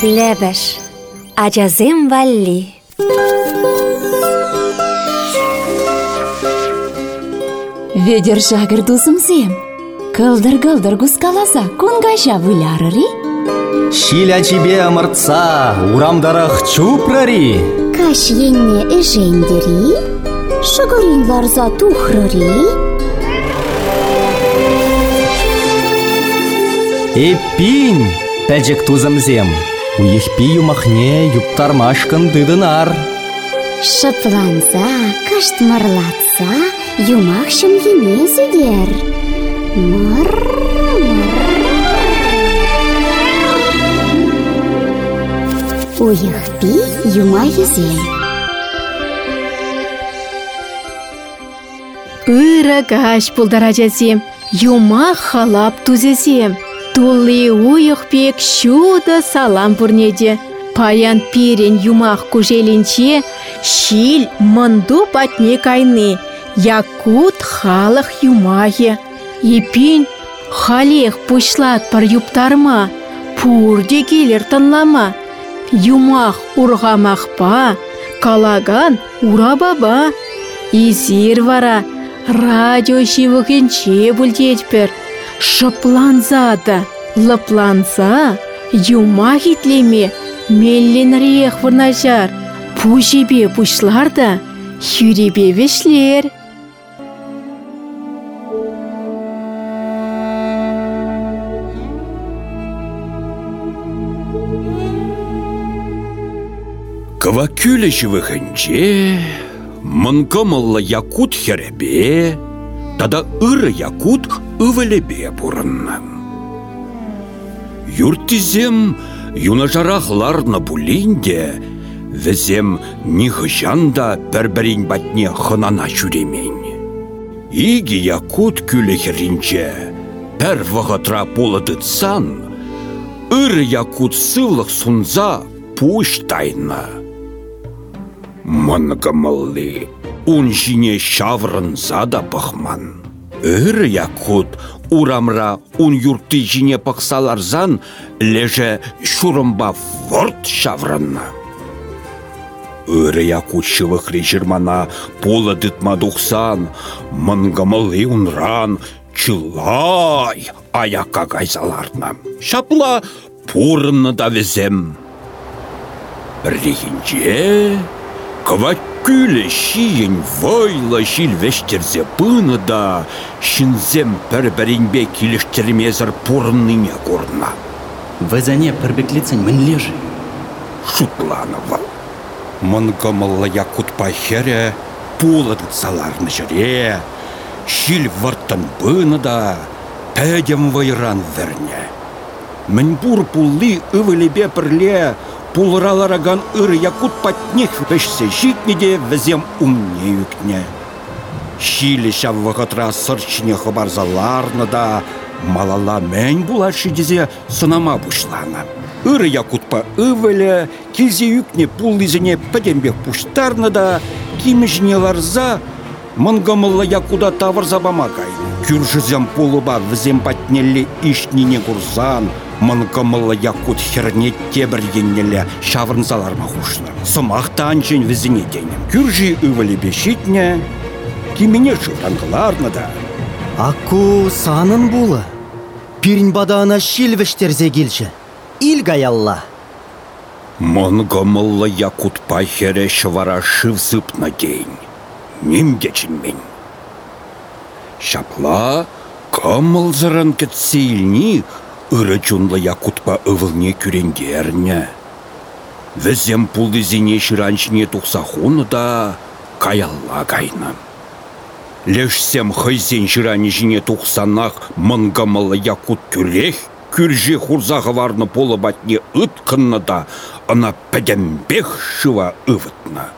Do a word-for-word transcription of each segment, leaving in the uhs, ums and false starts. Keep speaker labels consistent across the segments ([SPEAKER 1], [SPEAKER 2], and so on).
[SPEAKER 1] Лебеш, ачасем валли.
[SPEAKER 2] Ведер жагыр дусымсем. Кылдыр-кылдыр гускаласа, кунгажа вылярыри.
[SPEAKER 3] Шиля тебе ымыртса, урамдарах чупрари.
[SPEAKER 4] Каш енне эжендери, шыгырин ларза тухрыри.
[SPEAKER 3] Эппин, пәжік тузымзем, уехпи юмахне юптармашкын дыдынар.
[SPEAKER 4] Шыпланса, каштмырлатса, юмах шымгене зедер. Мыр, мыр. Уехпи юма езем.
[SPEAKER 5] Ыра каш пулдаражасем, юма халап тузесем. Тулли уйықпек шуда салам пурнеде. Паян пирен юмах кужелинче, шил мынду патне кайны. Якут халық юмахе. Епин халех пушлат пар юптарма. Пурде келер тынлама. Юмах урғамақпа, калаган урабаба. Изир вара, радио шивықенче бүлдетпір. Шыпланзада, лыпланса, юма хитлеме, мелленрех вырнажар. Пужебе пушларда, юребе вешлер.
[SPEAKER 6] Кыва күлеші вғынче, мұнкымылы якут херебе, тада ыры якут ывелебе бұрыннан. Юртизем юнажарахларна булинде, візем нихыжанда бір-бірін батне хынана жүремен. Иги якут күлехерінче, пәр вғытра полыдытсан, ыры якут сывлық сунза пуштайна. Мангамалли, он жине шаврынса да пахман. Ыр якут урамра он юрты жине пақсаларзан, леже шурымба ворт шаврынна. Ыр якут шывық режирмана пола дытмадуқсан, мангамалли унран чылай аяққа кайзаларна. Шапла пурынны да везем. Рихинче, кыва күлі шиен вайла шилвештерзе пыны да, шинзем пір-бірінбе келіштермезір пурынныне көрна.
[SPEAKER 3] Візіне пірбеклицін мін лежі.
[SPEAKER 6] Шутланова. Мұнгымылы якут пахере, пулыдыт саларны жыре, шил варттан пыны да, пәдем вайран верне. Мін бур пулли ывылебе пірле, пулыралараган ыр якут патнех вешсе житнеде візем умне үкне. Шилі шаввағытра сырчыне хабарзаларны да, малала мән булашы дезе сынама бұшлана. Ыр якутпа ывылі, келзе үкне пуллизіне пәдембек пуштарны да, кимежіне ларза, мұнгамылы якуда тавырза бамагай. Күржізем пулыба візем патнелі ишніне курзан, мұнкымылы якут херне тебір еннелі шавырнзалар мағушны. Сымақтан жен візіне денем. Күржі ывылі бешітне, кемене жұрангыларны да.
[SPEAKER 7] Акку санын бұлы. Пирін бадағына шилвештерзе келші. Илгайалла.
[SPEAKER 6] Мұнкымылы якут пахере шывара шывсыпна дейін. Нем кечінмен. Шапла кымылзырын кетсейлні, ыры чунлы якутпа ывылне күренгерне. Візем пулды зене шыранчыне тұқсахуны да каялла кайна. Лешсем хайзен шыраны жіне тұқсанақ мұнгамылы якут күрех, күрже хурзағы варны полы батне ыткынны да, ана пәдембех шыва ывытна.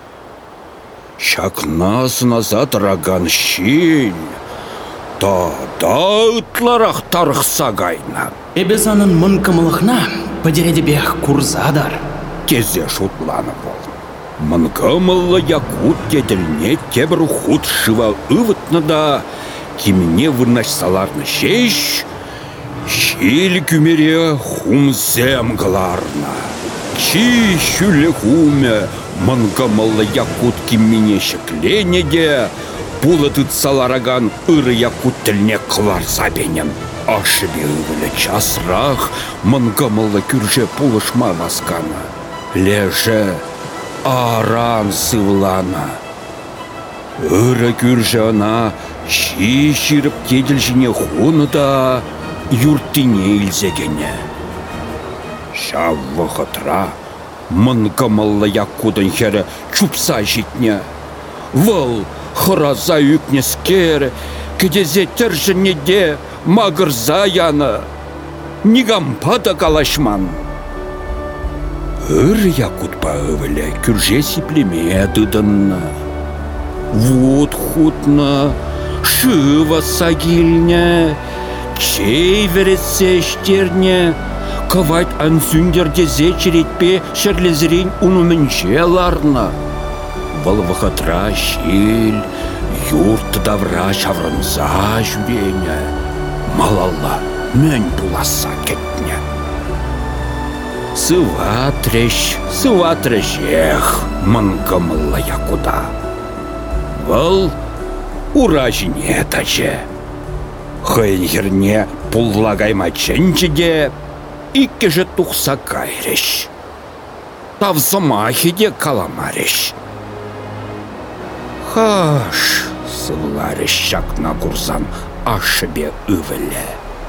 [SPEAKER 6] Шакнас назад раган шин, та-да ытларах тарықса гайна.
[SPEAKER 8] Эбе санын мұнкымылықна падередебех курзадар.
[SPEAKER 6] Тезе шутланы бол. Мұнкымылы якут кеділне тебір худ шыва ывытны да, киміне вырнаш саларны шеш, Шил күмере хумсем гларна. Чи шүлі хуме мангамалла якут киммене шекленеде, пулатыт салараган ыры якут тілне қылар сабенем. Ашыбе ывылы часрах мангамалла күрже пулышма васкана. Леже аран сывлана. Ыры күрже ана чи ширіп кеділжіне хуны да юрттине илзегене. Шаввы хытра мангамалла якудан хері чупса житне. Выл хыраза үкнескер, кедезе тержінеде мағырза яны. Нигампада калашман. Ыр якутпа ывыле күрже сиплеме дыдынна. Вот хутна, шыва сагильня, чей вересе штерне, кавать ансюндерде зечеретпе шерлезрень унуменче ларна. Валвахатра щель, юрт давра шавранза жүрене, малалла мөн буласа кетне. Сыва трещ, сыва трещех, мангамылла якуда. Вал уражине таче. Хайнхерне пуллагайма ченчеде, икке же тухса кайреш. Тавзамахиде каламареш. Хаш, сывлареш шакна курсан ашыбе ывеле.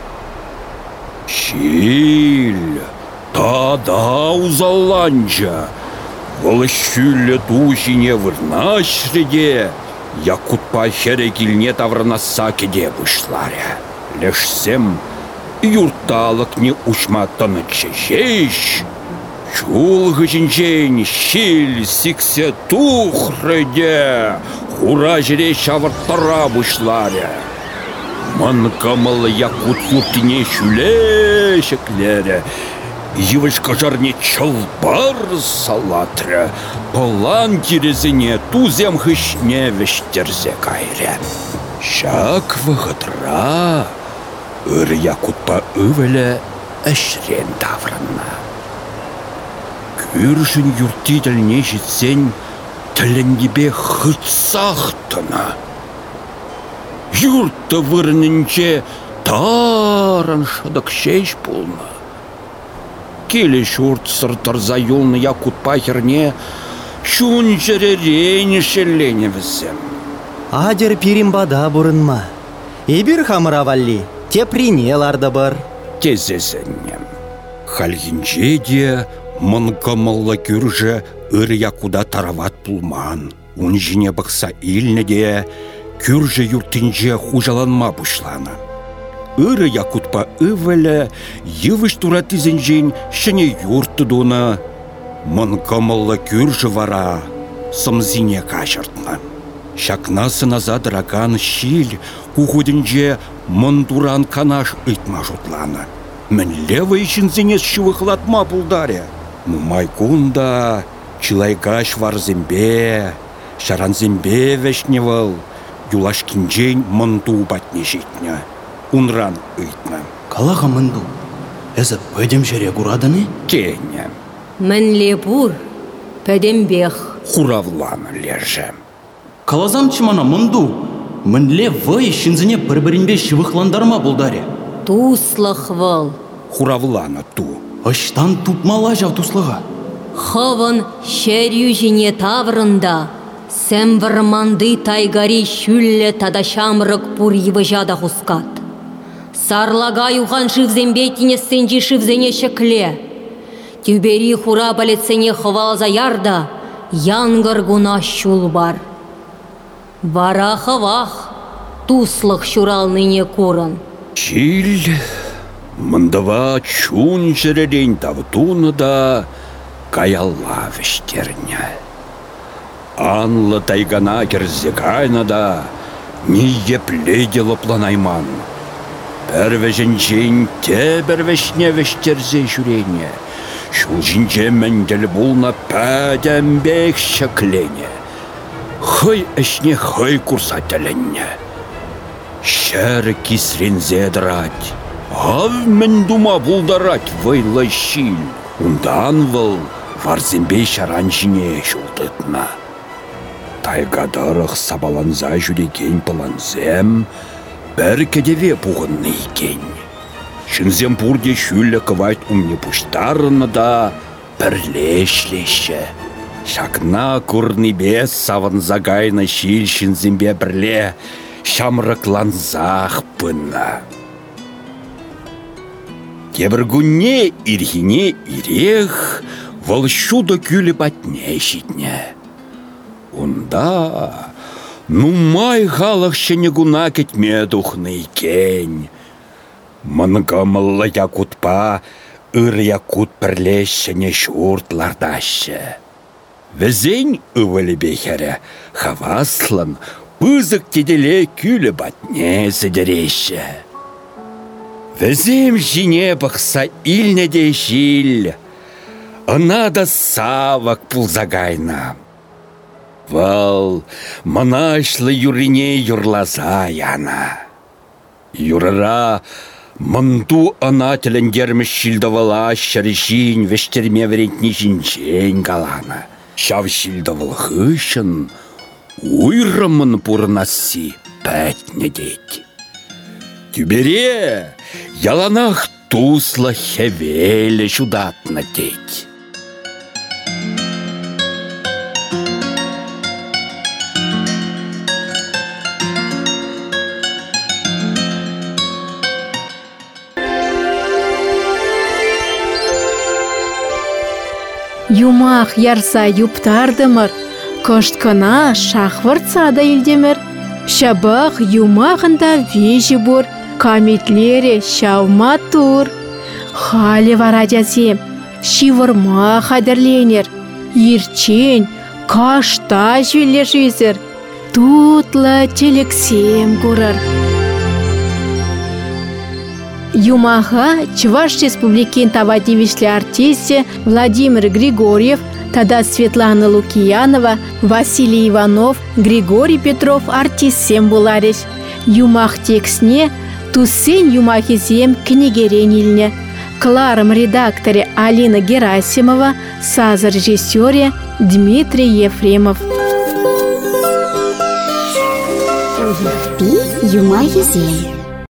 [SPEAKER 6] Щиль, та-да узаланча, валыщүлі тушине вырнашреде, якутпа херекилне тавранаса кеде вышларя. Лешсем юрталық не учматтаны чешеш, чулғы жінжен щиль сиксе тухрыде, хура жіре шавырттара вышларя. Манкамалы якут юртине шүле шеклері, Йывышка жарне чылбар салатры, полан терезіне тузем хышне вештерзе кайре. Шак вғытра, ыр якутпа ывелі әшрен таврына. Күршін юртительне жетсен, тіліндебе хытсақтына. Юртты вырынынче таран шадық шеш болна. Келе шурт сыртырза юлны якутпа херне, шун жеререйні шеллене візем.
[SPEAKER 7] Адер пиримбада бұрынма. Эбір хамыравалли, те принеларды бар.
[SPEAKER 6] Тезезеннем. Хальгинже де мангамалла күрже ыр якуда тарават пулман. Ун жіне бақса илне де күрже юртинже хужаланма бұшлана. Ыры якутпа ывелі, йывыш туратызенжен шыне юрты дуна. Мангамалла күржі вара, сымзине кашыртна. Шакнасы назад раган щиль, кухуденже мандуран канаш ытма жутлана. Мен левый жінзенес шывықлатма бұлдаре. Майкунда, чилайгаш варзембе, шаранзембе вешневал, юлашкинжен манду батне житня. Унран ыйтна.
[SPEAKER 8] Калаға мынду, әзі пөдем жере құрадыны?
[SPEAKER 6] Кене.
[SPEAKER 1] Мен лепур, пөдем бех.
[SPEAKER 6] Хуравланы леже.
[SPEAKER 8] Калазам чымана мынду, мінле вай шынзіне бір-бірінбе шывықландарма бұлдаре.
[SPEAKER 1] Туслық выл.
[SPEAKER 6] Хуравланы ту.
[SPEAKER 8] Аштан тупмала жау туслыға.
[SPEAKER 1] Хывын шерю жіне таврында. Сәм варманды тайгари шүлле тадашамрық пұр евы жада хускат. Сарлага юған шывзембе тінестенжі шывзене шекле. Тюбери хура балетсене хывалза ярда, янгыр гуна шул бар. Вара хывах, туслық шуралныне курын.
[SPEAKER 6] Чиль, мындава чун жерелень тавтуны да каялла вештерня. Анлы тайгана керзекайна да не епледело планайман. Пәрвежінжен те бәрвешне вештерзе жүрене. Шул жінже мәндел бұлна пәдәмбек шеклене. Хай әшне хай курса тәленне. Шәрі кисрензе дырать. Ав мен дума булдарать вайлы шил. Ундан выл варзембе шаран жіне жулдытна. Тайгадарық сабаланза жүреген пыланзем, бір кедеве бұғынны екен. Шынзем бұрде шүлі кывайт умне пұштарыны да бірлешлеші. Шакна курны бес саванза гайна шил шынзембе бірле шамрыкланзақ пына. Кебіргүнне ирхине ирех волшуда күлі батне житне. Унда нумай халық шене гуна кетме духны кен. Мангамылла якутпа ыр якут пірлешіне шуртлардашы. Візен ывылі бехері хаваслан пызык теделе күлі батне зідереші. Візем жіне бақса илнеде жил, ынада савак пулзагайна. Вал манашлы юрине юрлаза яна. Юрара мынду ана тілінгерміш шилдавала шарышин вештерме верентні жинчен галана. Шав шилдавал хышын уйрымын пурнасы пәтне дейт. Тюбере яланах тусла хевеле чудатна деть.
[SPEAKER 5] Юмах ярса юптардымыр, кышткына шахвыртса да илдемір. Шабах юмағында вежі бұр, каметлері шавма тур. Халі варадясем, шивырма қадірленер, ерчен, кашта жвелер жезір, тутлы телексем көрір. Юмаха Чуваш Республикин тавадивишлі артисте Владимир Григорьев, тада Светлана Лукиянова, Василий Иванов, Григорий Петров артистсем булариш. Юмах тексне туссен юмахизем книгерен илне. Кларым редакторе Алина Герасимова, саз режиссере Дмитрий Ефремов.
[SPEAKER 4] Пи юмахизем.